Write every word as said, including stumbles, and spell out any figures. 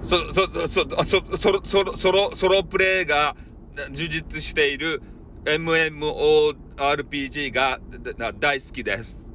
そ、そ、そ、そ、そろ、そろ、ソロ、ソロプレイが充実している エムエムオーアールピージー がだ大好きです。